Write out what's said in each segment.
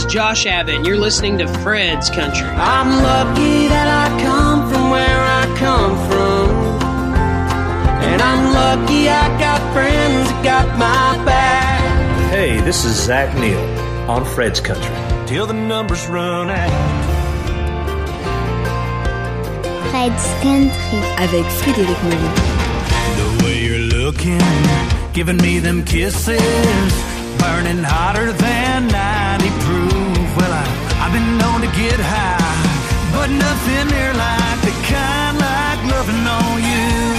Josh Abbott, and you're listening to Fred's Country. I'm lucky that I come from where I come from, and I'm lucky I got friends that got my back. Hey, this is Zach Neal on Fred's Country. Till the numbers run out. Fred's Country avec Frédéric Moreau. The way you're looking, giving me them kisses, burning hotter than 90 proof. Well, I've been known to get high, but nothing near like the kind like loving on you.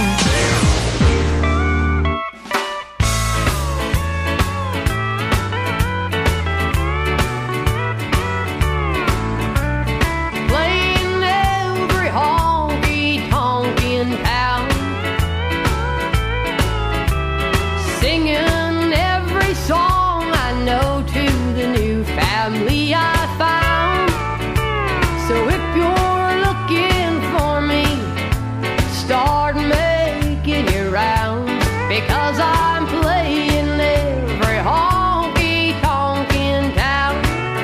Playing every honky-tonk in town, singing every song I know to the new family I found. So if you're looking for me, start making your rounds, because I'm playing every honky-tonk in town.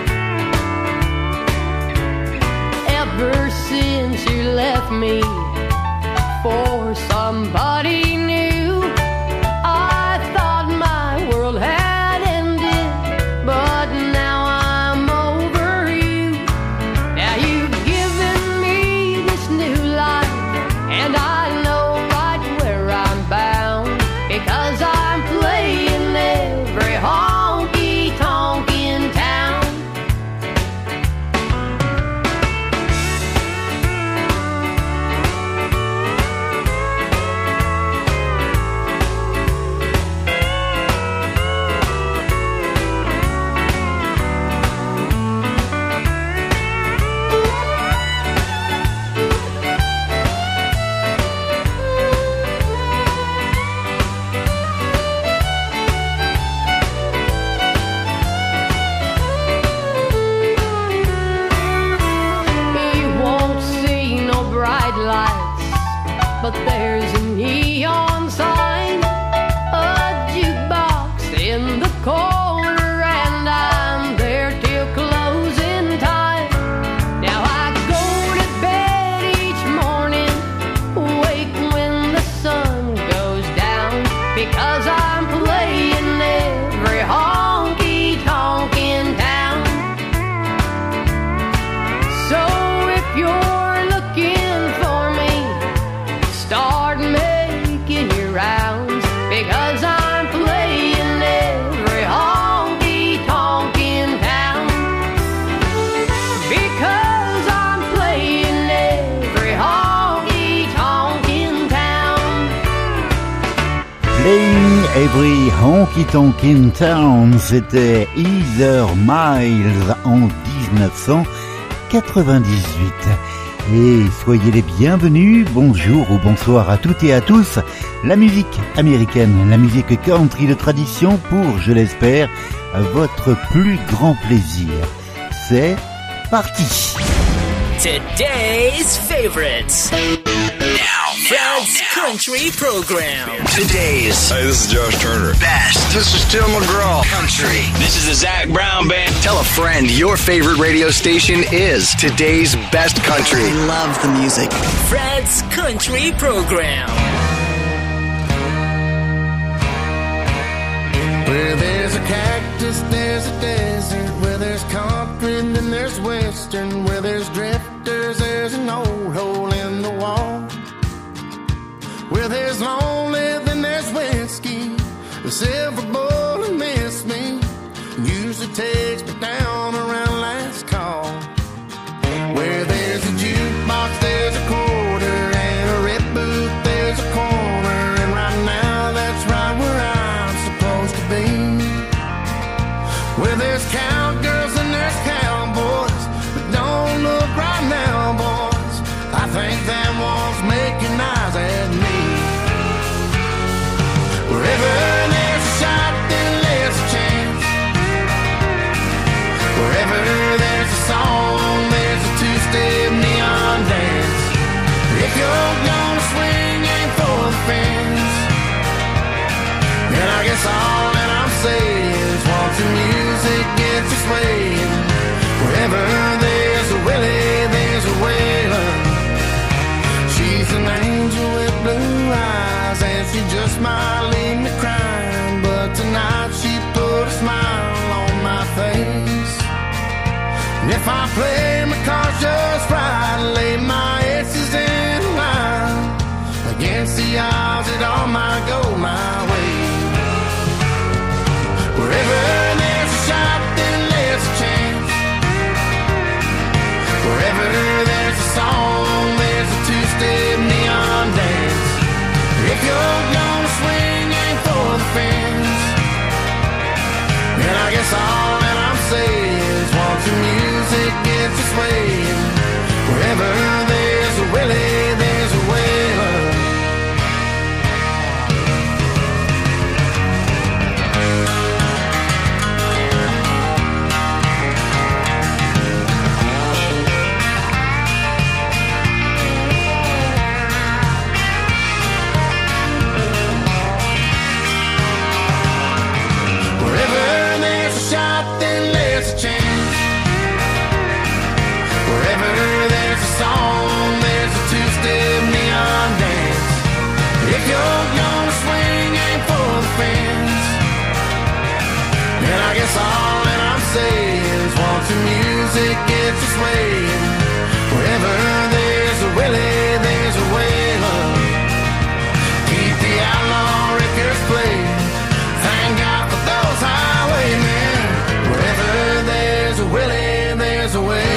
Ever since you left me for somebody new, I thought my world had ended, but now I'm over you. Now you've given me this new life, and I know right where I'm bound, because I'm playing every honky-tonk in town. You won't see no bright lights, but there's a neon sign, a jukebox in the corner, and I'm there till closing time. Now I go to bed each morning, wake when the sun goes down, because I'm playing every honky-tonk in town. So if you're looking for me, start making your rounds, because I'm playing every honky-tonk in town. Because I'm playing every honky-tonk in town. Playing Every Honky Tonk in Town, c'était Heather Miles en 1998. Et soyez les bienvenus, bonjour ou bonsoir à toutes et à tous. La musique américaine, la musique country de tradition pour, je l'espère, votre plus grand plaisir. C'est parti! Today's favorites. Now, Fred's Country Program. Today's. Hey, this is Josh Turner. Best. This is Tim McGraw. Country. This is the Zach Brown Band. Tell a friend your favorite radio station is today's best country. I love the music. Fred's Country Program. Where there's a cactus, there's a desert. Where there's country, then there's western. Where there's drifters, there's an old hole in the wall. Where there's lonely, then there's whiskey. The silver bullet missed me, usually takes me down around last call. Where there's a jukebox, there's a quarter, and a red boot, there's a corner. And right now, that's right where I'm supposed to be. Where there's cowgirls and there's cowboys, but don't look right now, boys. I think that one's making eyes at me. Wherever there's a shot, then there's a chance. Wherever there's a song, there's a two-step neon dance. If you're gonna swing, aim for the fence. And I guess all that I'm saying is once the music gets to swaying, might leave me crying, but tonight she put a smile on my face. And if I play my cards just right, lay my aces in line, against the odds it all might go my way. Wherever there's a shot, then there's a chance. Wherever there's a song, there's a two-step neon dance. If you're gonna swing, aim for the fence. And I guess all that I'm saying is once the music gets its way, wherever there's a Willie, there's a Waylon. And I guess all that I'm saying is once the music gets its way, wherever there's a Willie, there's a Waylon. Keep the outlaw records playing. Thank God for those highwaymen. Wherever there's a Willie, there's a Waylon.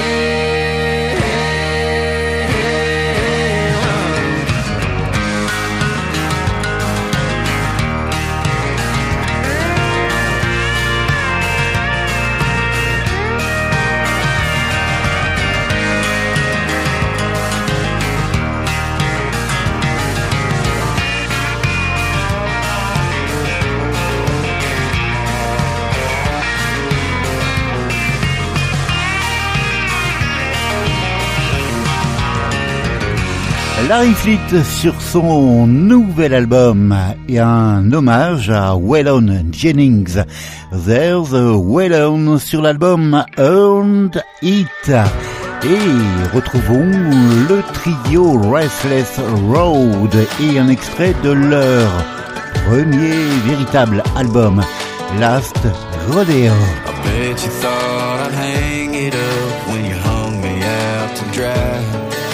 Larry Fleet sur son nouvel album et un hommage à Waylon Jennings. There's a Waylon sur l'album Earned It. Et retrouvons le trio Restless Road et un extrait de leur premier véritable album, Last Rodeo. I bet you thought I'd hang it up when you hung me out to dry.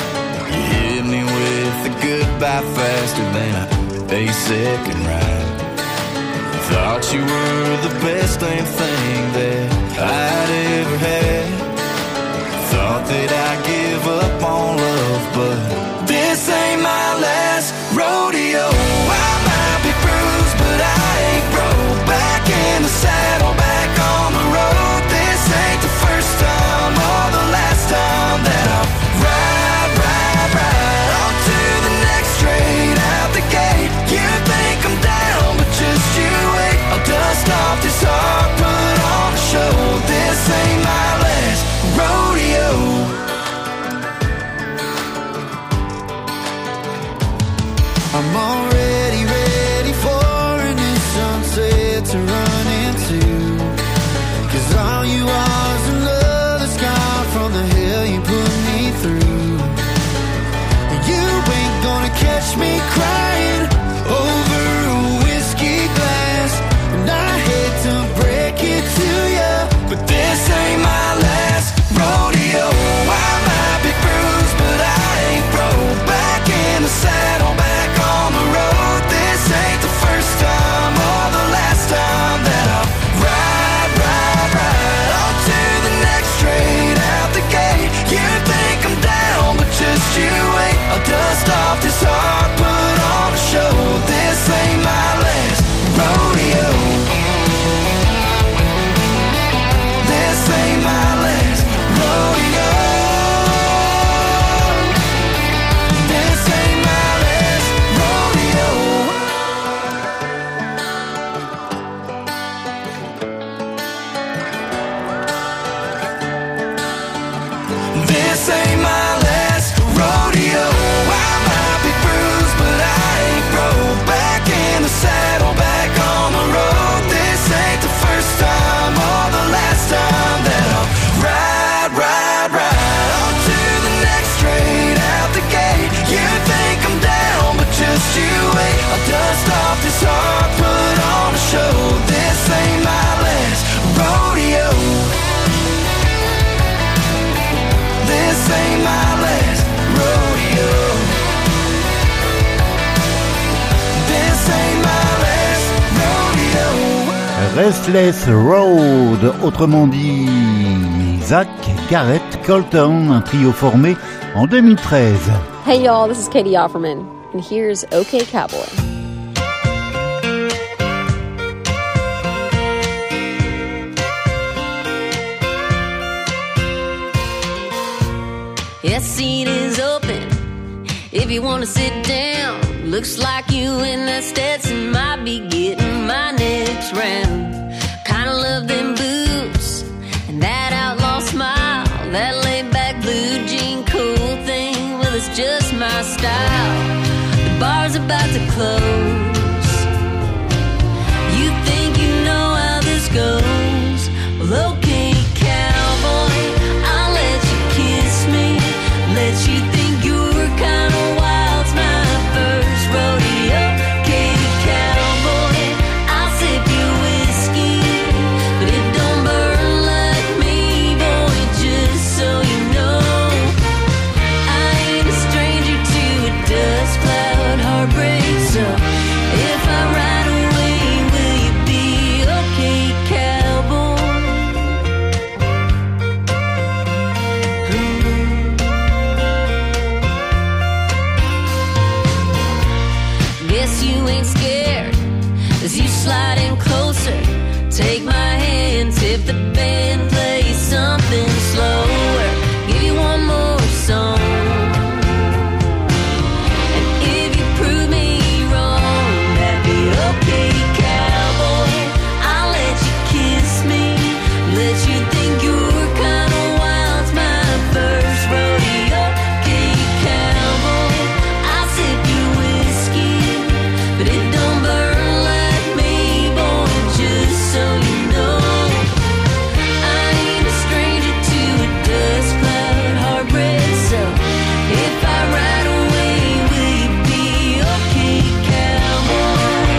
By faster than a day-second ride. Thought you were the best damn thing that I'd ever had. Thought that I'd give up on love, but this ain't my last rodeo. I might be bruised, but I ain't broke. Back in the saddle, back on the road. This ain't the first time or the last time that I'll ride on to the next straight out the gate. You think I'm down, but just you wait. I'll dust off this heart, put on a show. This ain't my last rodeo. I'm already ready for a new sunset to run into. 'Cause all you are is another scar from the hell you put me through. You ain't gonna catch me crying over a whiskey glass. And I hate to break it to you, but this ain't my last rodeo. I might be bruised, but I ain't broke. Back in the saddle, back on the road. This ain't the first time or the last time that I'll ride on to the next straight out the gate. You think I'm down, but just you wait. I'll dust off this heart, put on a show. This ain't my last rodeo. This ain't my last rodeo. This ain't my last rodeo. This ain't my last rodeo. I might be bruised, but I ain't broke. Back in the saddle, back on the road. This ain't the first time or the last time that I'll ride on to the next straight out the gate. You think I'm down, but just you wait. I'll dust off this heart. Restless Road, autrement dit Zach, Garrett, Colton, un trio formé en 2013. Hey y'all, this is Katie Offerman, and here's OK Cowboy. Yes, seat is open if you want to sit down. Looks like you and that Stetson might be getting my next round. Kinda love them boots and that outlaw smile, that laid-back blue jean cool thing. Well, it's just my style. The bar's about to close. You think you know how this goes? Well, okay, cowboy, I'll let you kiss me, let you think you're kind of wild's my first rodeo. Okay, cowboy, I'll sip your whiskey, but it don't burn like me, boy, just so you know. I ain't a stranger to a dust cloud heartbreak, so if I ride away, will you be okay, cowboy? Guess you ain't scared as you slide in closer. Take my hand, tip the band, play something slower. Give you one more song. And if you prove me wrong, that'd be okay, cowboy. I'll let you kiss me, let you think you're kind of wild's my first rodeo. Okay, cowboy, I'll sip your whiskey, but it don't burn like me, boy, just so you know. I ain't a stranger to a dust cloud heartbreak, so if I ride away, will you be okay, cowboy?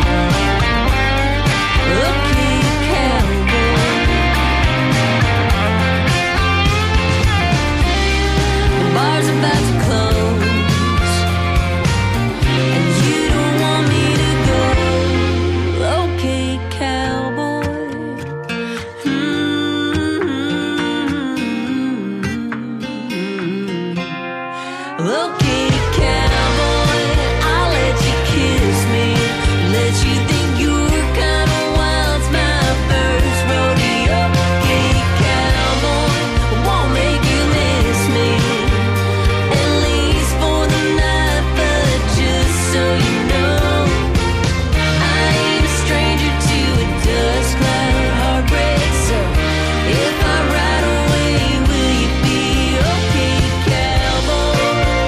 Okay, cowboy. The bar's about to close, and you don't want me to go. Okay, cowboy. Okay, cowboy, I'll let you kiss me, let you think you're kind of wild's my first rodeo. Okay, cowboy, won't make you miss me, at least for the night, but just so you know, I ain't a stranger to a dust cloud heartbreak, so if I ride away, will you be okay, cowboy?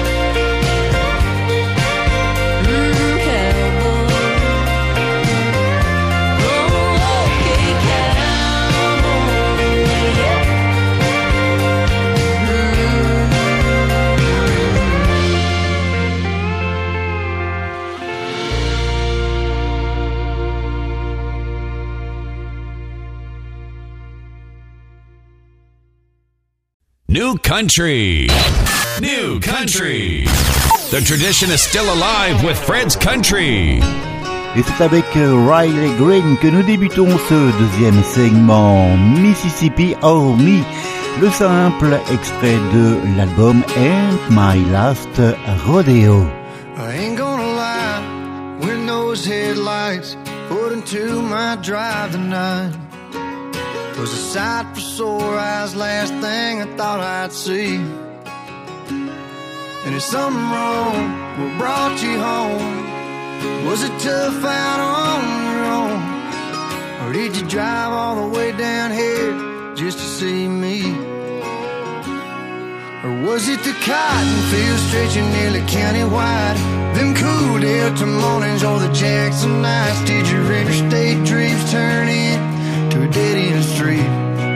Cowboy. Oh, okay, cowboy, yeah. New Country. New Country. The tradition is still alive with Fred's Country. Et c'est avec Riley Green que nous débutons ce deuxième segment Mississippi Oh Me, le simple extrait de l'album And My Last Rodeo. I ain't gonna lie, when those headlights put into my drive tonight was a sight for sore eyes, last thing I thought I'd see. And is something wrong? What brought you home? Was it tough out on your own? Or did you drive all the way down here just to see me? Or was it the cotton fields stretching nearly county-wide? Them cool Delta mornings or the Jackson nights? Did your interstate dreams turn into a dead-end street?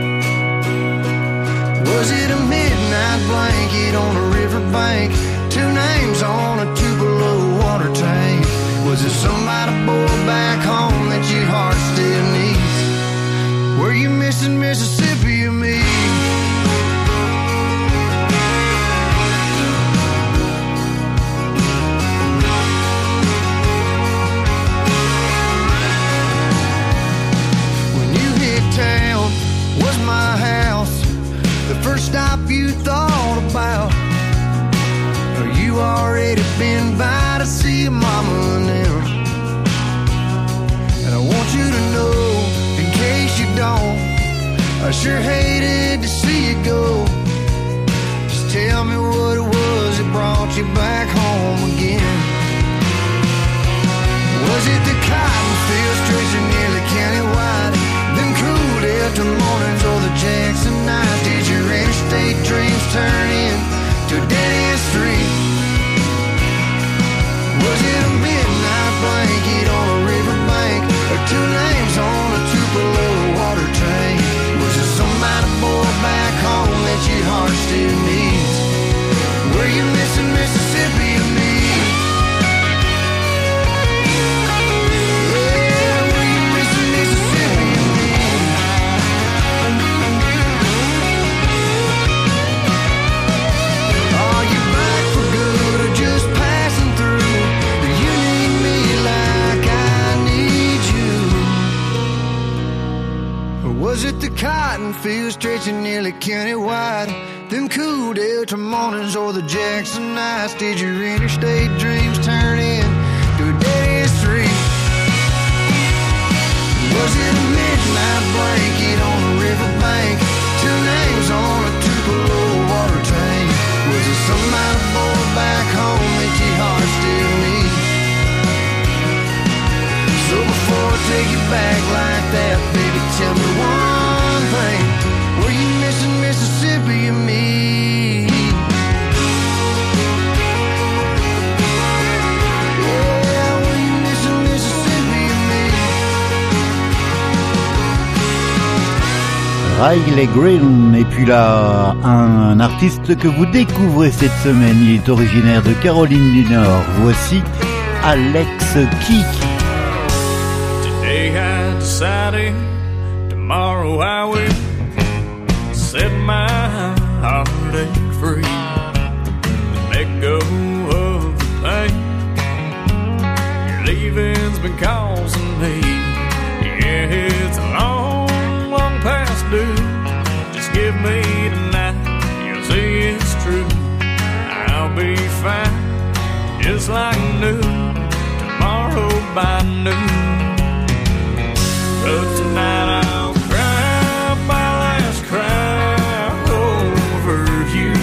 Was it a midnight blanket on a riverbank? Two names on a Tupelo water tank? Was it somebody boy back home that your heart still needs? Were you missing Mississippi or me? dropping by to see your mama now. And I want you to know, in case you don't, I sure hated to see you go. Just tell me what it was that brought you back home again. Was it the cotton field stretching nearly countywide, them cool Delta mornings or the Jackson nights? Did your interstate dreams turn into a dead-end street? Was it a midnight blanket on a riverbank, or two names on a Tupelo water tank? Was it some mighty boy back home that your heart still needs? Were you missing Mississippi or me? Was it the cotton fields stretching nearly countywide, them cool Delta mornings or the Jackson nights? Did your interstate dreams turn into a dead-end street? Was it a midnight blanket on a riverbank, two names on a Tupelo water tank? Was it some mighty boy back home that your heart still needs? So before I take you back like that, baby, tell me one thing. Were you missing Mississippi or me? Yeah, were you missing Mississippi or me? Riley Green, et puis là, un artiste que vous découvrez cette semaine, il est originaire de Caroline du Nord. Voici Alex Keek. I decided tomorrow I will set my heartache free, let go of the pain your leaving's been causing me. Yeah, it's a long, long past due. Just give me tonight, you'll see it's true. I'll be fine, just like new, tomorrow by noon. But tonight I'll cry my last cry over you.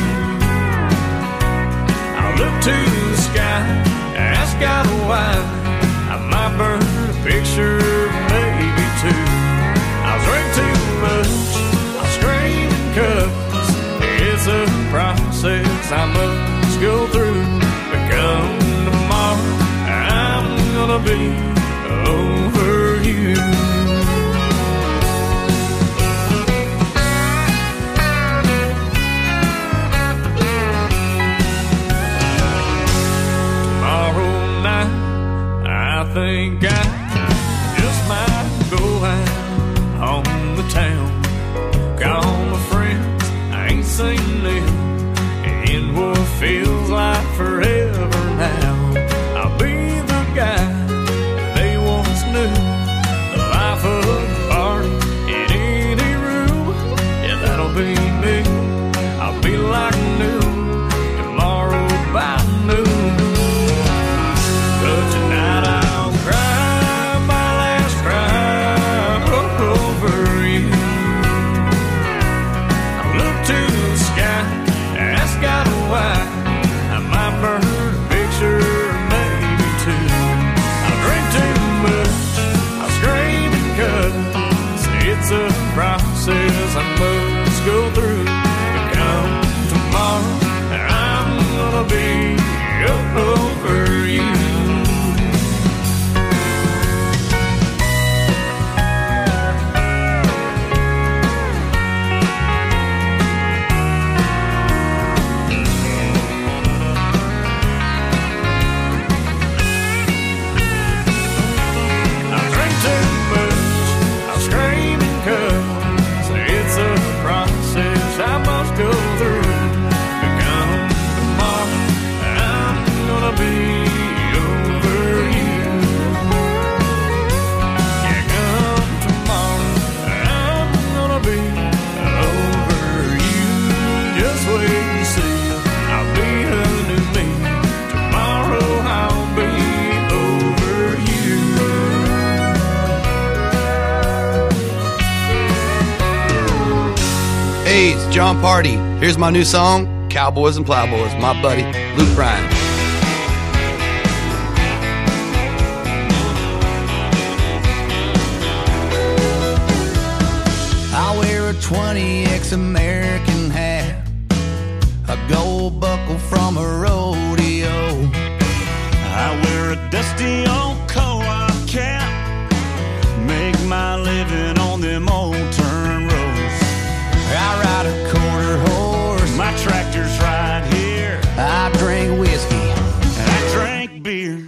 I'll look to the sky, ask God why. I might burn a picture, maybe two. I'll drink too much, I'll scream and cuss. It's a process I must go through. But come tomorrow, I'm gonna be over you. I think I just might go out on the town, call my friends, I ain't seen them in what feels like forever now. I'll be the guy they once knew, the life of the party in any room. Yeah, that'll be me. I'll be like new tomorrow by noon. But tonight I'll cry my last cry over you. I'll look to the sky, ask God why. I might burn a picture, maybe two. I'll drink too much, I'll scream and cuss. It's a process I must go through. But come tomorrow, I'm gonna be over you. Hey, it's John Party. Here's my new song, Cowboys and Plowboys, my buddy, Luke Bryan. I wear a 20X American hat, a gold buckle from a rodeo. I wear a dusty old co-op cap, make my living on them old turn roads. I ride a quarter horse, my tractor's right here. I drink whiskey, I drink beer.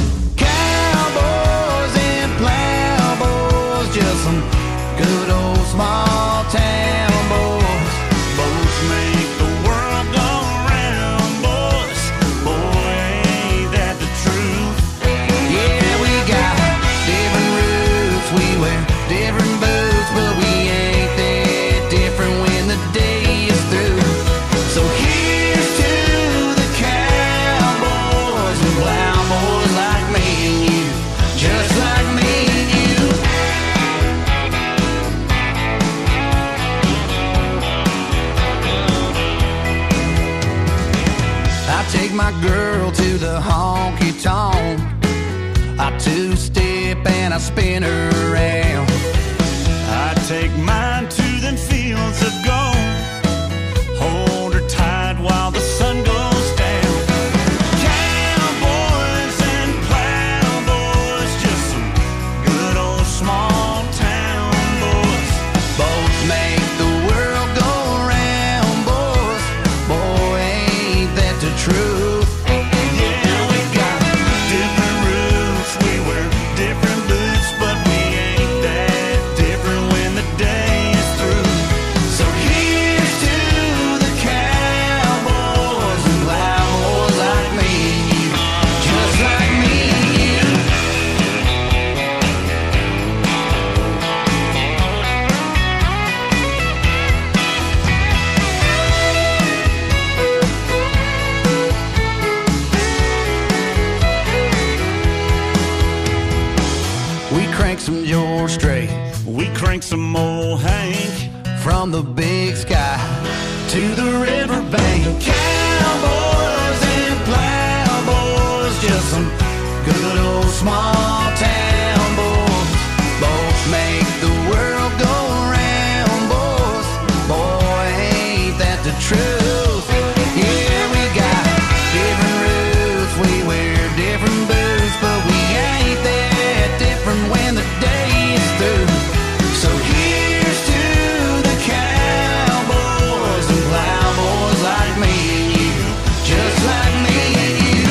Cowboys and plowboys, just some good old small town boys. Boats make the world go round, boys. Boy, ain't that the truth? Yeah, we got different roots, we wear different boots, but we ain't that different when the day is through. So here's to the cowboys and plowboys like me and you, just like me and you. I take my girl to the honky-tonk, I two-step and I spin her around. I take mine to them fields of gold, hold her tight while the sun goes down. Cowboys and plowboys, just some good old small town boys. Both make the world go round, boys. Boy, ain't that the truth? Yeah, we got different roots, we wear different boots, but we ain't that different when the day is through. So here's to the cowboys and plowboys like me and you, just like me and you. We crank some George Strait, We crank some old Hank, from the big sky to the riverbank. Cowboys and plowboys, just some good old small town boys. Both make the world go round, boys. Boy, ain't that the truth? Yeah, we got different roots, we wear different boots, but we ain't that different when the day is through. So here's to the cowboys and plowboys like me and you, just like me and you.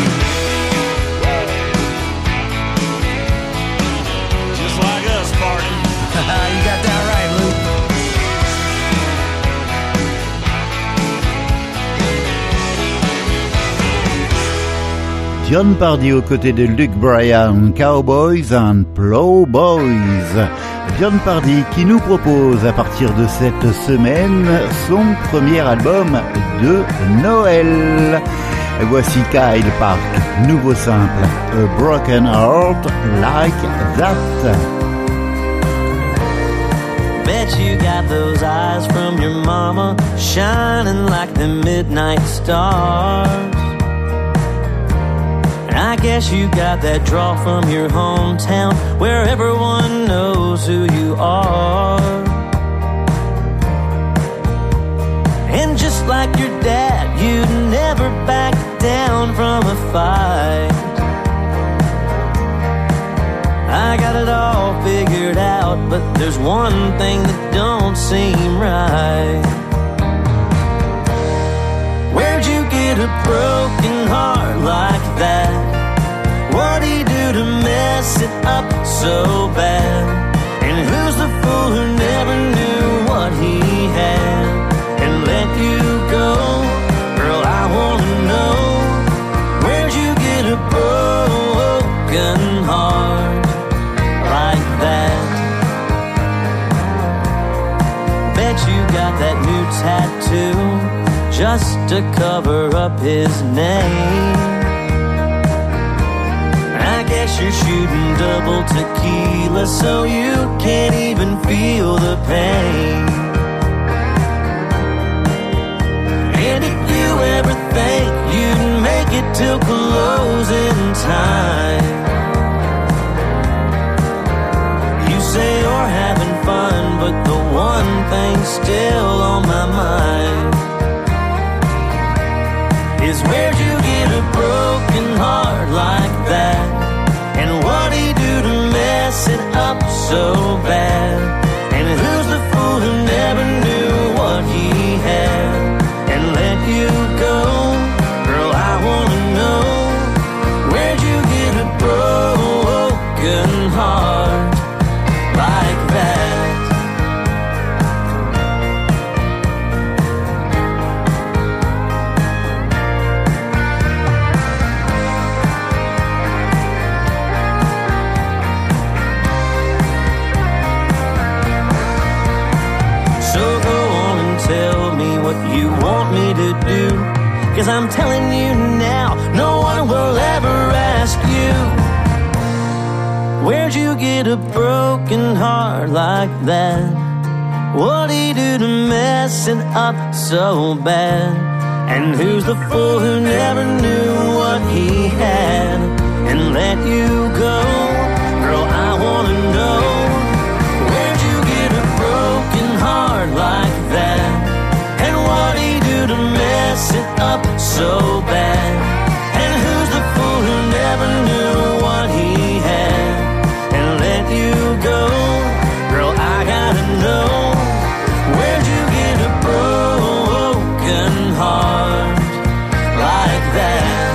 just like us, Barton. You got that right, Luke. John Pardy aux côtés de Luke Bryan, Cowboys and Plowboys. John Pardy qui nous propose à partir de cette semaine son premier album de Noël. Voici Kyle Park, nouveau simple, A Broken Heart Like That. Bet you got those eyes from your mama, shining like the midnight stars. I guess you got that draw from your hometown, where everyone knows who you are. And just like your dad, you'd never back down from a fight. I got it all figured out, but there's one thing that don't seem right. Where'd you get a broken heart like that? What'd he do to mess it up so bad? And who's the fool who never knew what he had and let you go? Girl, I wanna know, where'd you get a broken heart like that? Bet you got that new tattoo just to cover up his name. I guess you're shooting double tequila so you can't even feel the pain. till closing time. You say you're having fun, but the one thing still on my mind is where'd you get a broken heart like that? And what'd he do to mess it up so bad? And who's the fool who never knew what he had and let you go? Girl, I wanna know, where'd you get a broken heart like that? You want me to do, 'cause I'm telling you now, no one will ever ask you, where'd you get a broken heart like that? What'd he do to mess it up so bad? And who's the fool who never knew what he had and let you go? Girl, I wanna know, where'd you get a broken heart like that? What'd he do to mess it up so bad? And who's the fool who never knew what he had and let you go? Girl, I gotta know, where'd you get a broken heart like that?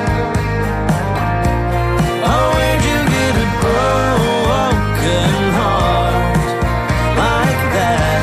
Oh, where'd you get a broken heart like that?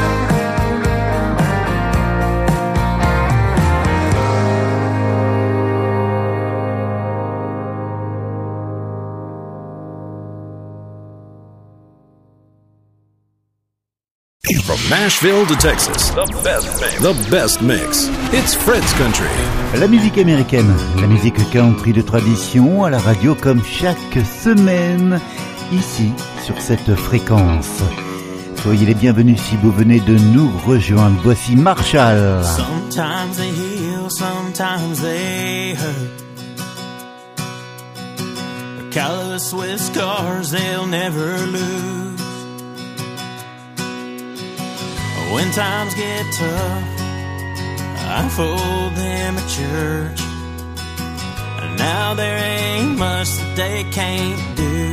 From Nashville to Texas, the best mix. It's Fred's Country. La musique américaine, la musique country de tradition à la radio comme chaque semaine, ici sur cette fréquence. Soyez les bienvenus si vous venez de nous rejoindre. Voici Marshall. Sometimes they heal, sometimes they hurt. They're callous with scars they'll never lose. When times get tough, I fold them at church. And now there ain't much that they can't do.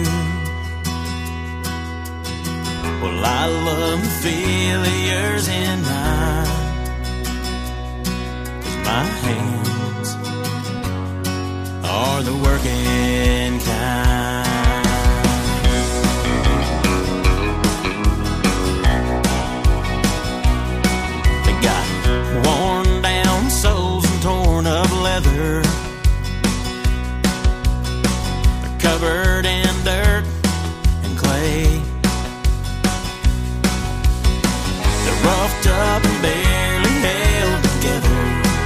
Well, I love the feel of yours in mine, 'cause my hands are the working kind. Worn down soles and torn up leather. They're covered in dirt and clay. They're roughed up and barely held together,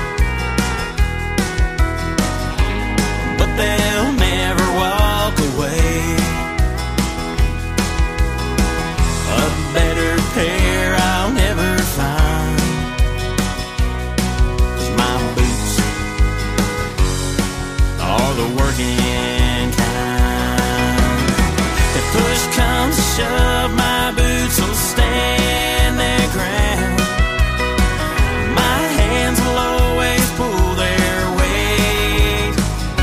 but they'll never walk away. A better pair I'll never find. The working kind. If push comes to shove, my boots will stand their ground. My hands will always pull their weight.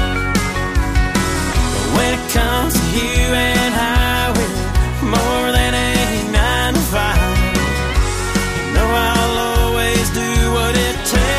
But when it comes to you and I, we're more than a 9 to 5. You know I'll always do what it takes.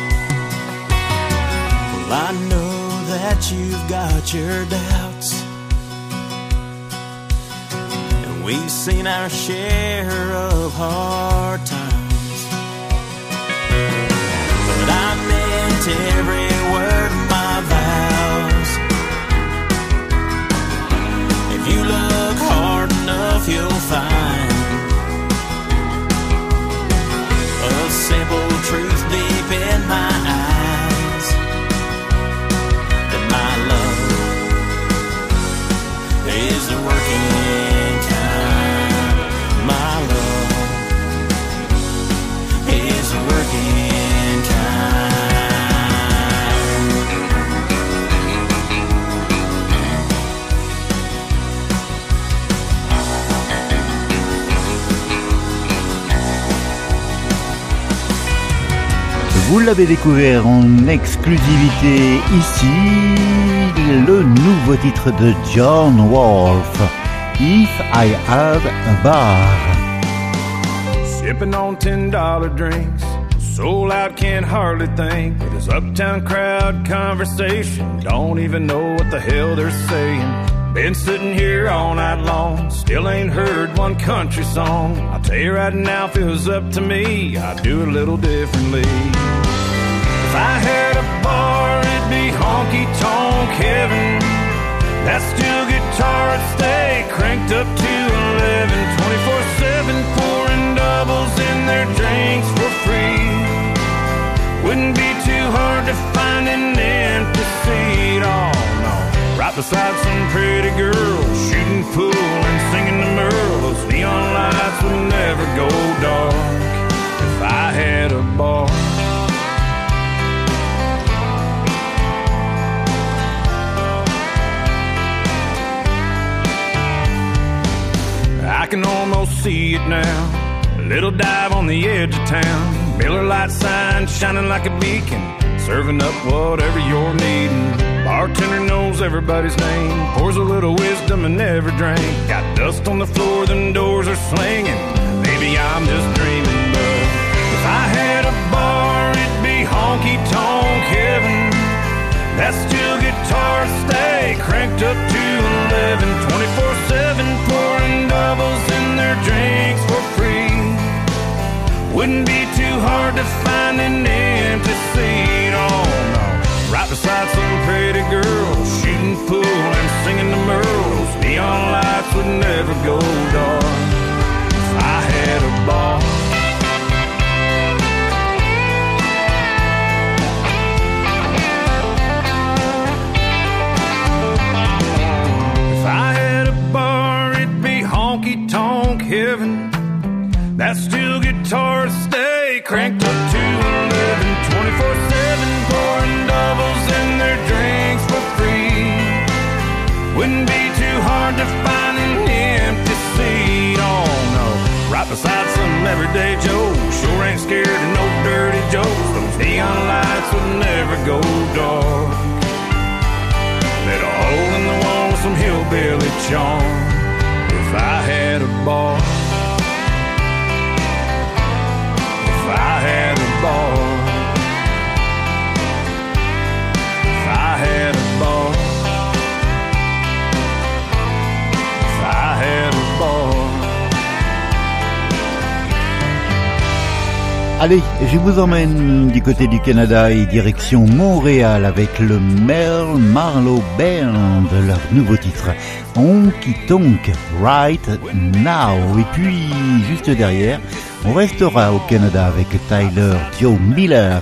Well, I know that you've got your doubts, we've seen our share of hard times. But I meant every word of my vows. If you look hard enough, you'll find a simple truth deep in my eyes, that my love is the working kind. My love is the working kind. Vous l'avez découvert en exclusivité ici, le nouveau titre de John Wolfe, If I Had a Bar. Sipping on $10 drinks, soul out, can't hardly think. With this uptown crowd conversation, don't even know what the hell they're saying. Been sitting here all night long, still ain't heard one country song. I'll tell you right now, if it was up to me, I'd do it a little differently. If I had a bar, it'd be honky-tonk heaven. That steel guitar would stay cranked up to 11, 24/7, pouring doubles in their drinks for free. Wouldn't be too hard to find an empty seat, oh no. Right beside some pretty girl, shooting pool and singing to Merle. Those neon lights would never go dark if I had a bar. I can almost see it now. A little dive on the edge of town. Miller Lite sign shining like a beacon, serving up whatever you're needing. Bartender knows everybody's name, pours a little wisdom in every drink. Got dust on the floor, them doors are slinging. Maybe I'm just dreaming, but if I had a bar, it'd be honky-tonk heaven. That steel guitar stay cranked up to 11, 24/7, pouring doubles in their drinks for free. Wouldn't be too hard to find an empty seat, oh no. Right beside some pretty girl, shooting pool and singing to Merle. Those neon lights would never go dark if I had a bar. If I had a bar, it'd be honky-tonk heaven. That steel guitar stay cranked up to 11, 24/7, pouring doubles in their drinks for free. Wouldn't be too hard to find an empty seat, oh no. Right beside some everyday Joe, sure ain't scared of no dirty jokes. Those neon lights would never go dark. Let a hole in the wall with some hillbilly charm if I had a bar. If I had a bar, if I had a bar, if I had a bar. Allez, je vous emmène du côté du Canada et direction Montréal avec le Mel Marlowe Band, leur nouveau titre Honky Tonk Right Now. Et puis juste derrière, on restera au Canada avec Tyler Joe Miller.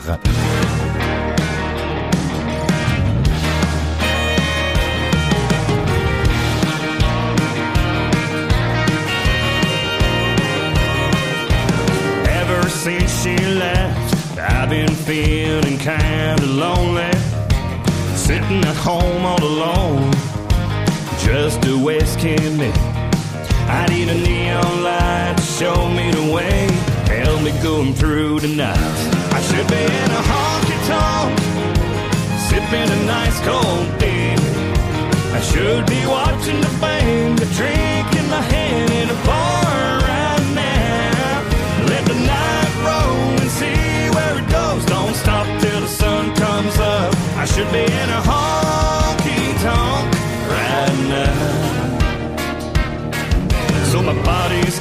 Ever since she left, I've been feeling kinda lonely, sitting at home all alone, just a wasting me. I need a neon light to show me the way, help me going through the night. I should be in a honky-tonk, sipping a nice cold beer. I should be watching the band, a drink in my hand in a bar right now. Let the night roll and see where it goes. Don't stop till the sun comes up. I should be in a honky-tonk right now. So my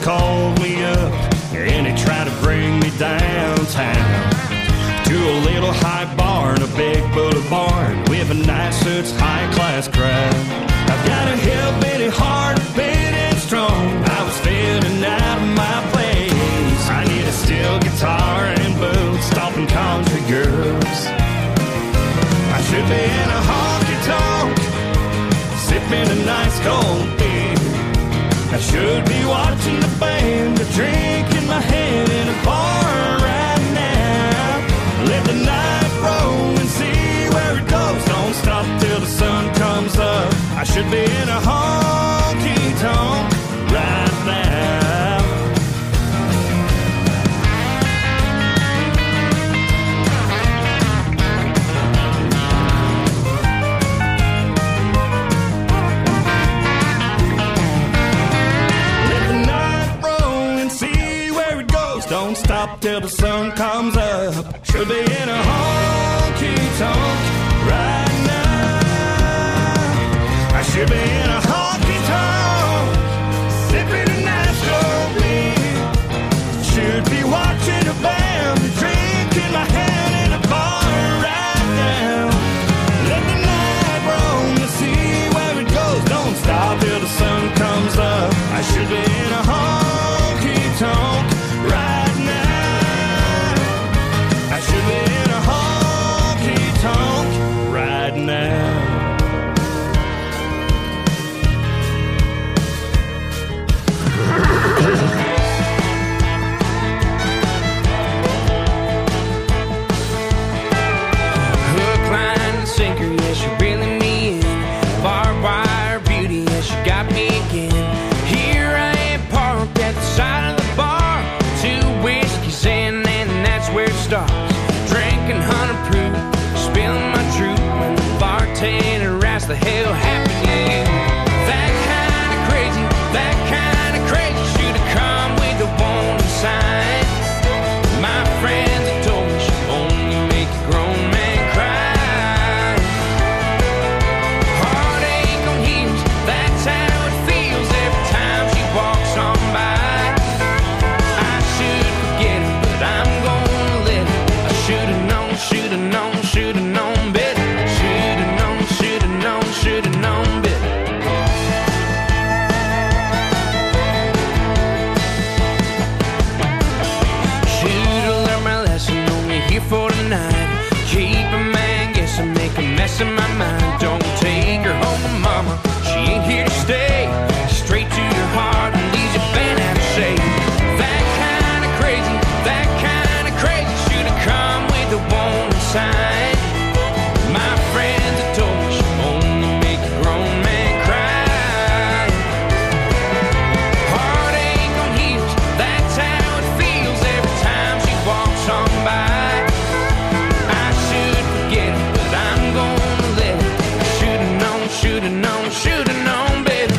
called me up and he tried to bring me downtown to a little high bar in a big bullet barn with a nice suits high-class crowd. I've got a hillbilly heart, big and strong. I was feeling out of my place. I need a steel guitar and boots, stomping country girls. I should be in a honky-tonk, sipping a nice cold beer. I should be watching the band, a drink in my hand in a bar right now. Let the night roll and see where it goes. Don't stop till the sun comes up. I should be in a honky-tonk right now. Don't stop till the sun comes up. Should be in a honky-tonk right now. I should be in a honky-tonk, sipping a nice cold beer. Should be watching a band, a drink in my hand in a bar right now. Let the night roll to see where it goes. Don't stop till the sun comes up. I should be in a honky-tonk right now. I should be in a honky-tonk right now. Hook, line, and sinker, yes, you're reeling me in. Barbed wire beauty, yes, you got me again. Here I am parked at the side of the bar. 2 whiskeys in, and that's where it starts. Drinking 100 proof, spilling my truth when the bartender asks the hell happened to you. That kind of crazy, should have come with a warning sign. My friends have told me she only make a grown man cry. Heartache on heels, that's how it feels every time she walks on by. I should forget it, but I'm gonna let it. I should've known better. Should've known better. Should've learned my lesson, only here for tonight. Keep a man guessing, make a mess of my mind. Don't take her home to mama, she ain't here to stay. Straight to your heart and leaves you bent out of shape. That kind of crazy, should've come with a warning sign. My friends have told me she only make a grown man cry. Heartache on heels, that's how it feels every time she walks on by. I should forget it, but I'm gonna let it. I should've known better.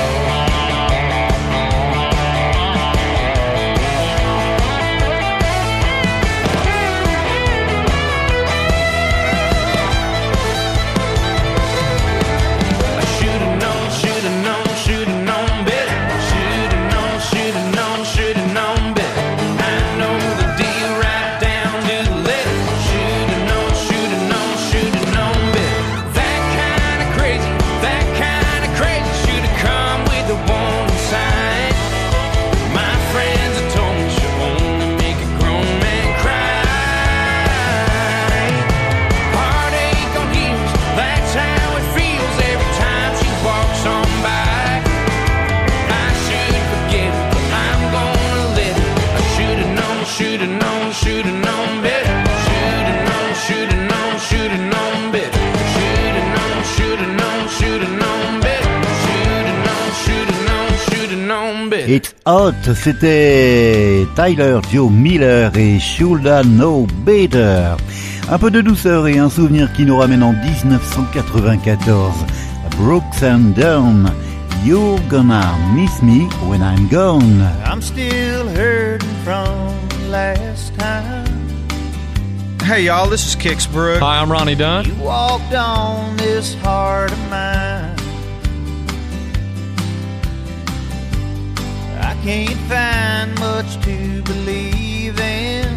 It's Hot, c'était Tyler Joe Miller et Shoulda Know Better. Un peu de douceur et un souvenir qui nous ramène en 1994. Brooks and Dunn, You're Gonna Miss Me When I'm Gone. I'm still hurting from last time. Hey y'all, this is Kix Brooks. Hi, I'm Ronnie Dunn. You walked on this heart of mine. I can't find much to believe in.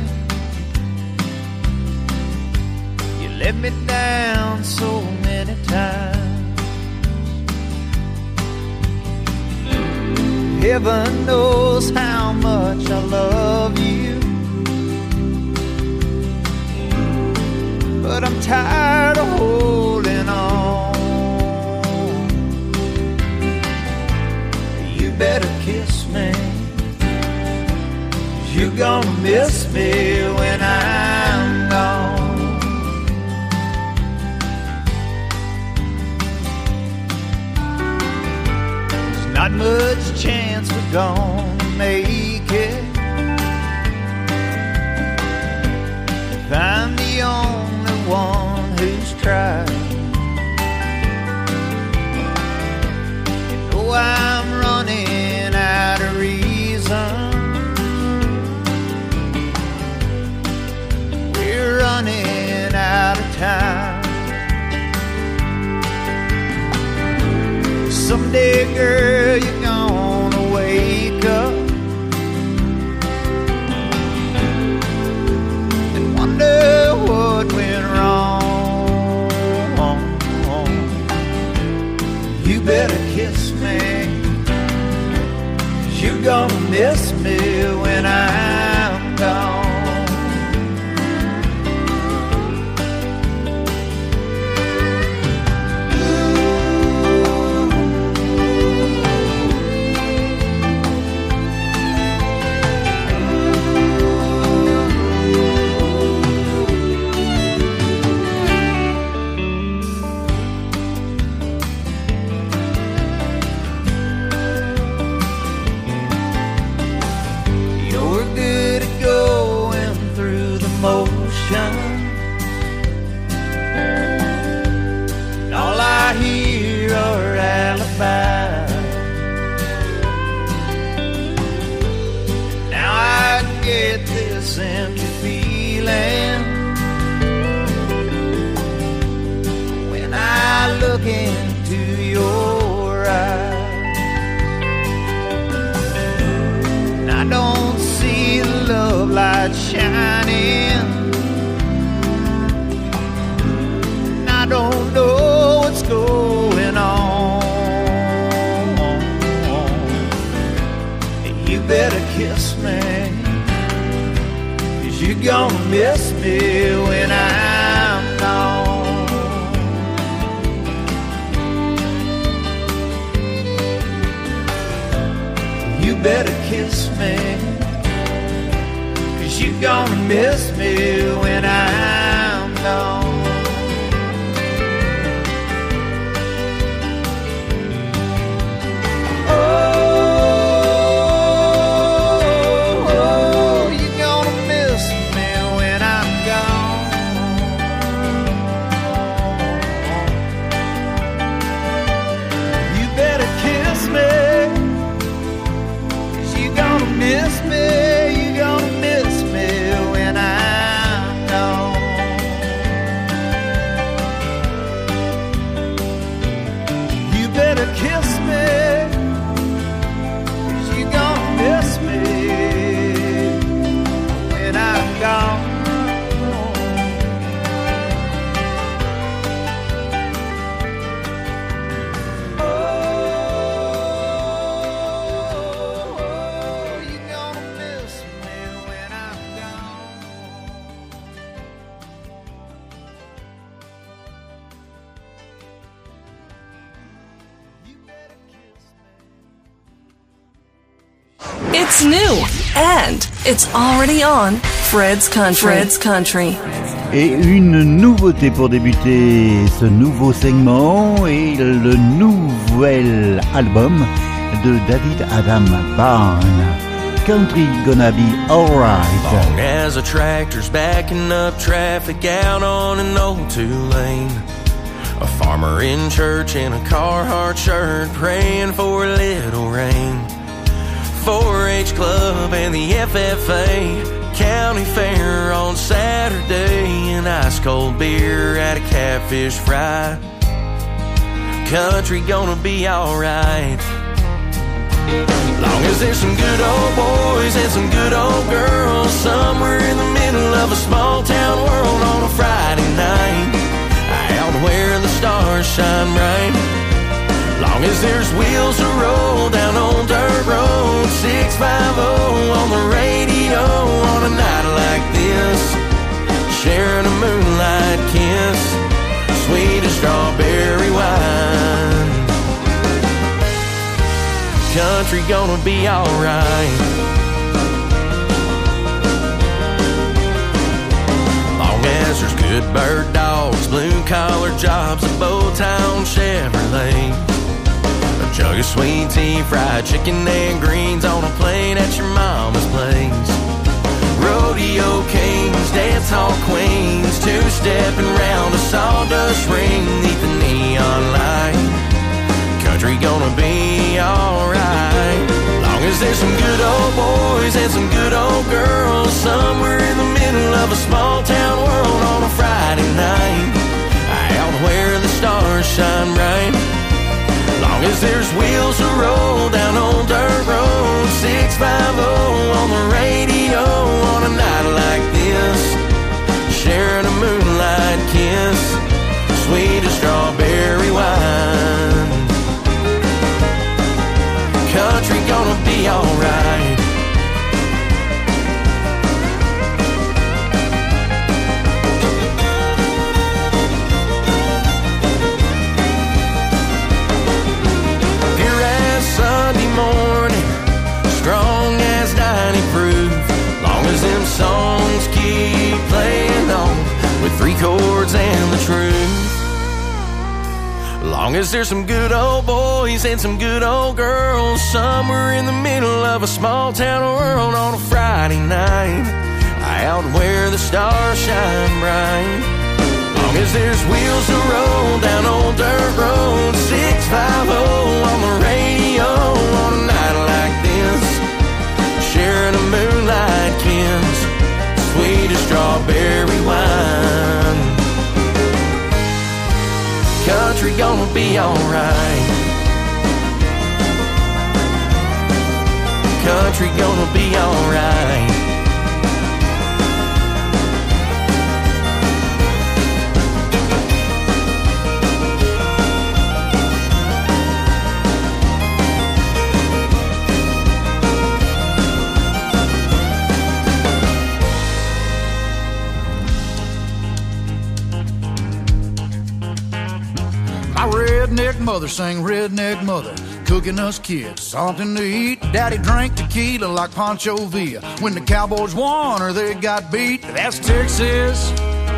You let me down so many times. Heaven knows how much I love you, but I'm tired of holding on. You better kiss me, 'cause you're gonna miss me when I'm gone. There's not much chance we're gonna make it if I'm the only one who's tried. You know I'm running out of reason. We're running out of time. Someday, girl, you're gonna wake up and wonder what went wrong. You better kiss me, 'cause you're gonna miss me when I'm gone. Look into your eyes, and I don't see the love light shining, and I don't know what's going on. You better kiss me, 'cause you're gonna miss me when I'm gone. You better kiss me, 'cause you're gonna miss me when I'm gone. Oh, you're gonna miss me when I'm gone. You better kiss me, miss me, you gonna miss me when I'm gone. You better kiss me, 'cause you gonna miss me when I'm gone. It's new and it's already on Fred's Country. Fred's Country. Et une nouveauté pour débuter ce nouveau segment est le nouvel album de David Adam Byrne. Country Gonna Be Alright. Long as a tractor's backing up traffic out on an old two-lane, a farmer in church in a Carhartt shirt praying for a little rain. 4-H club and the FFA county fair on Saturday, and ice cold beer at a catfish fry. Country gonna be alright. Long as there's some good old boys and some good old girls somewhere in the middle of a small town world on a Friday night, out where the stars shine bright. Long as there's wheels to roll down old dirt road 650 on the radio on a night like this, sharing a moonlight kiss, sweet as strawberry wine. Country gonna be alright. Long as there's good bird dogs, blue-collar jobs, a Bowtown Chevrolet, a jug of sweet tea, fried chicken and greens on a plate at your mama's place. Rodeo kings, dance hall queens, two-stepping round a sawdust ring neath the neon light. Country gonna be alright. Long as there's some good old boys and some good old girls somewhere in the middle of a small town world on a Friday night, out where the stars shine bright. Long as there's wheels to roll down old dirt road 650 on the radio on a night like this, sharing a moonlight kiss, sweet as strawberry wine. Country gonna be alright. Pure as Sunday morning, strong as 90 proof. Long as them songs keep playing on with 3 chords and the truth. Long as there's some good old boys and some good old girls somewhere in the middle of a small town world on a Friday night, out where the stars shine bright. Long as there's wheels to roll down old dirt road 650 on the radio on a night like this, sharing a moonlight kiss, sweet as strawberry wine. Country gonna be alright. Country gonna be alright. Redneck mother sang redneck mother, cooking us kids something to eat. Daddy drank tequila like Pancho Villa when the Cowboys won or they got beat. That's Texas.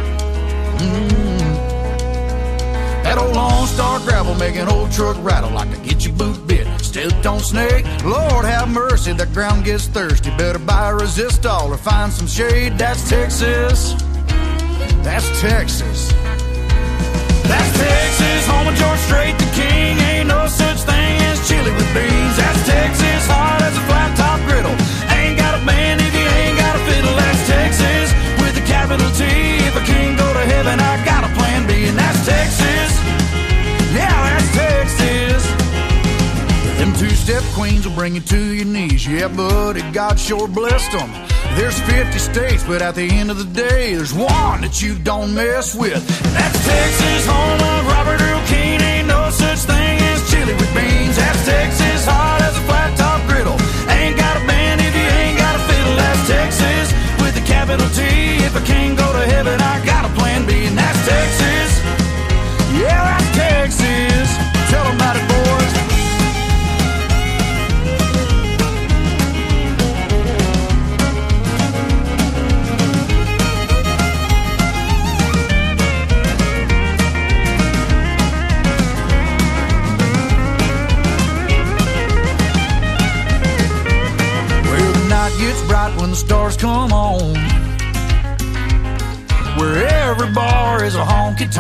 That old Lone Star gravel making old truck rattle like to get your boot bit. Stepped on snake, Lord have mercy, the ground gets thirsty. Better buy a resistol or find some shade. That's Texas. That's Texas. That's Texas, home of George Strait the King. Ain't no such thing as chili with beans. That's Texas, hard as a flat top griddle. Ain't got a band if you ain't got a fiddle. That's Texas, with a capital T. If I can't go to heaven, I got a plan B. And that's Texas, yeah, that's Texas. Them two-step queens will bring you to your knees. Yeah, buddy, God sure blessed them. There's 50 states, but at the end of the day, there's one that you don't mess with. That's Texas, home of Robert Earl Keen. Ain't no such thing as chili with beans. That's Texas, hard as a flat top griddle. Ain't got a band if you ain't got a fiddle. That's Texas, with a capital T. If I can't go to heaven, I got a plan B. And that's Texas, yeah, that's Texas. Tell them about it, boys. Gets bright when the stars come on, where every bar is a honky-tonk.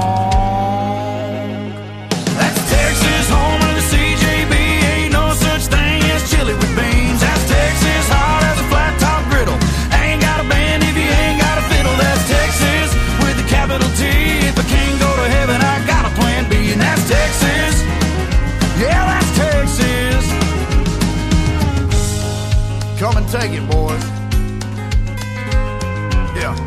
That's Texas, home of the CJB. Ain't no such thing as chili with beans. That's Texas, hard as a flat top griddle. Ain't got a band if you ain't got a fiddle. That's Texas, with a capital T. If I can't go to heaven, I got a plan B. And that's Texas, yeah, that's Texas. Take it, boys. Yeah.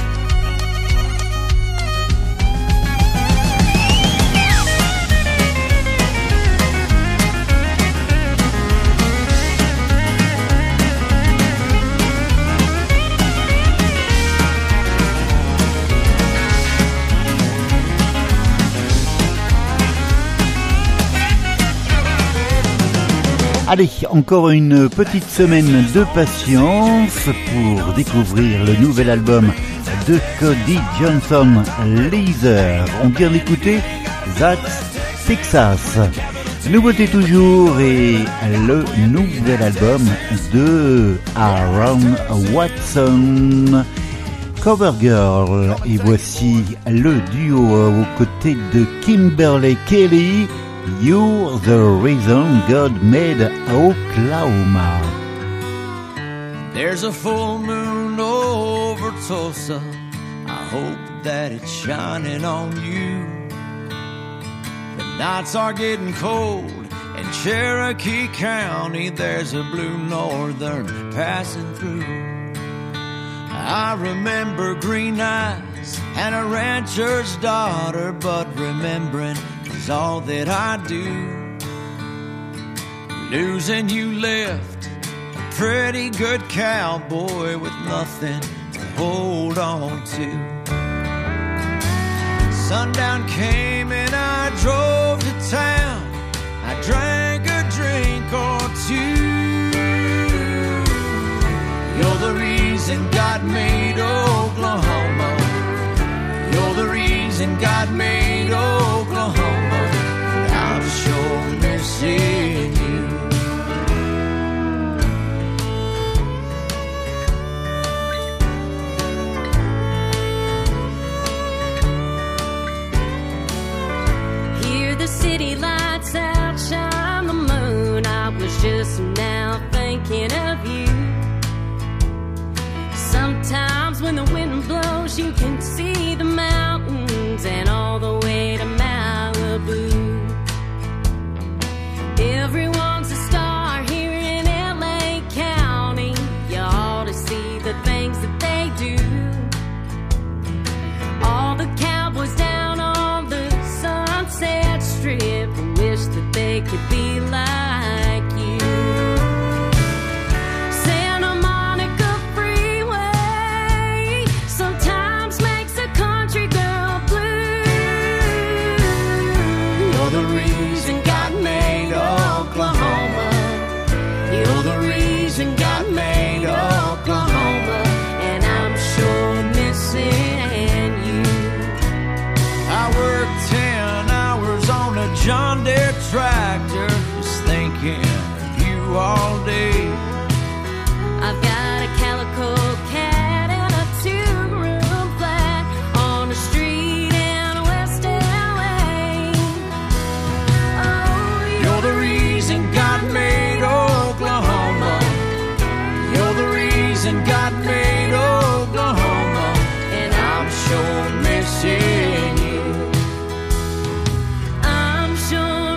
Allez, encore une petite semaine de patience pour découvrir le nouvel album de Cody Johnson, Laser. On vient d'écouter That's Texas. Nouveauté toujours et le nouvel album de Aaron Watson, Cover Girl. Et voici le duo aux côtés de Kimberly Kelly, You're the Reason God Made Oklahoma. There's a full moon over Tulsa. I hope that it's shining on you. The nights are getting cold. In Cherokee County, there's a blue northern passing through. I remember green eyes and a rancher's daughter, but remembering is all that I do. Losing you left a pretty good cowboy with nothing to hold on to. Sundown came and I drove to town. I drank a drink or two. You're the reason God made Oklahoma. You're the reason God made Oklahoma. I'm sure missing you. Hear the city lights outshine the moon. I was just now thinking of you. Sometimes when the wind blows, you can see the mountains and all the way to Malibu. Everyone's a star here in LA County. You ought to see the things that they do. All the cowboys down on the Sunset Strip wish that they could be like you. Santa Monica Freeway sometimes makes a country girl blue. You're the reason God made Oklahoma. You're the reason God made Oklahoma. And I'm sure missing you. I worked 10 hours on a John Deere tractor, just thinking of you all day. I've got a calico cat and a two-room flat on the street in West LA. Oh, You're the reason God made Oklahoma. You're the reason God made Oklahoma. And I'm sure missing you. I'm sure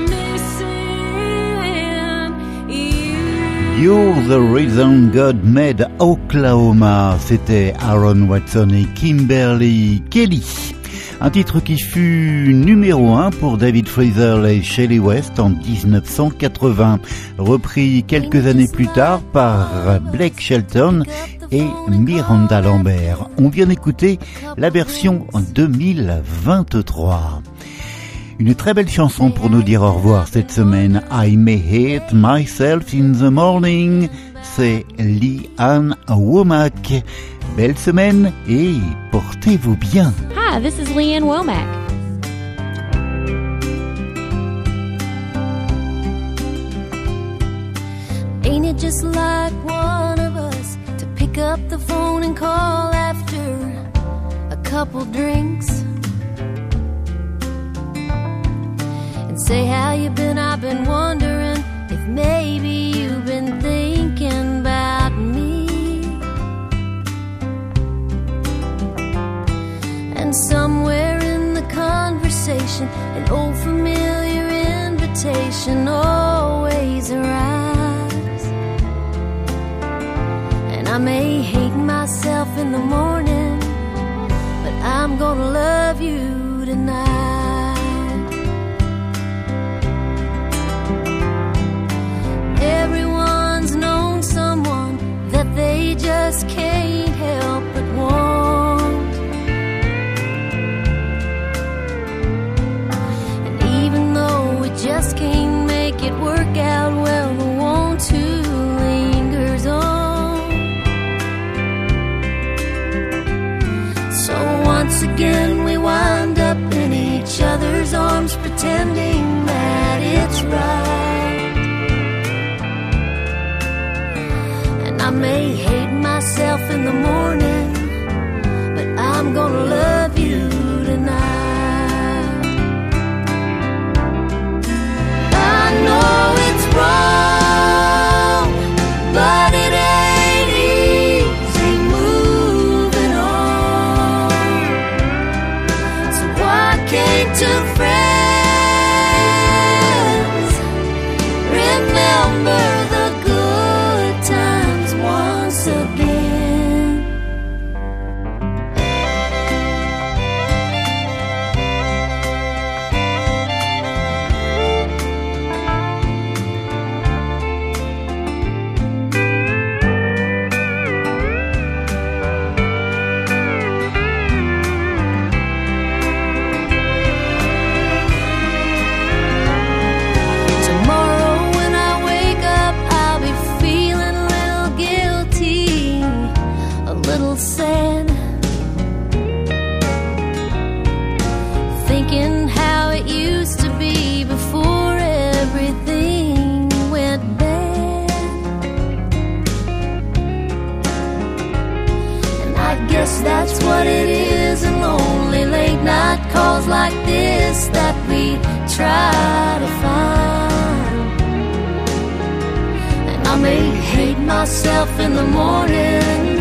missing you. You're the Reason God Made Oklahoma. C'était Aaron Watson et Kimberly Kelly. Un titre qui fut numéro 1 pour David Frizzell et Shelley West en 1980, repris quelques années plus tard par Blake Shelton et Miranda Lambert. On vient d'écouter la version en 2023. Une très belle chanson pour nous dire au revoir cette semaine. I may hate myself in the morning. C'est Lee Ann Womack. Belle semaine et portez-vous bien. Hi, this is Lee Ann Womack. Ain't it just like one of us to pick up the phone and call after a couple drinks and say how you been? I've been wondering if maybe you've been thinking about me. And somewhere in the conversation, an old familiar invitation always arrives. I may hate myself in the morning, but I'm gonna love you tonight. Everyone's known someone that they just can't help but want. And even though we just can't make it work out, well, the want to lingers on. So once again we wind up in each other's arms, pretending that it's right. And I may hate myself in the morning, but I'm gonna love you tonight. I know it's wrong, but it ain't easy moving on. So why can't two friends remember the good times once again? Tomorrow when I wake up, I'll be feeling a little guilty, a little sad, thinking how it used to be before everything went bad. And I guess that's what it is, in lonely late night calls like this that we try to find. And I may hate myself in the morning,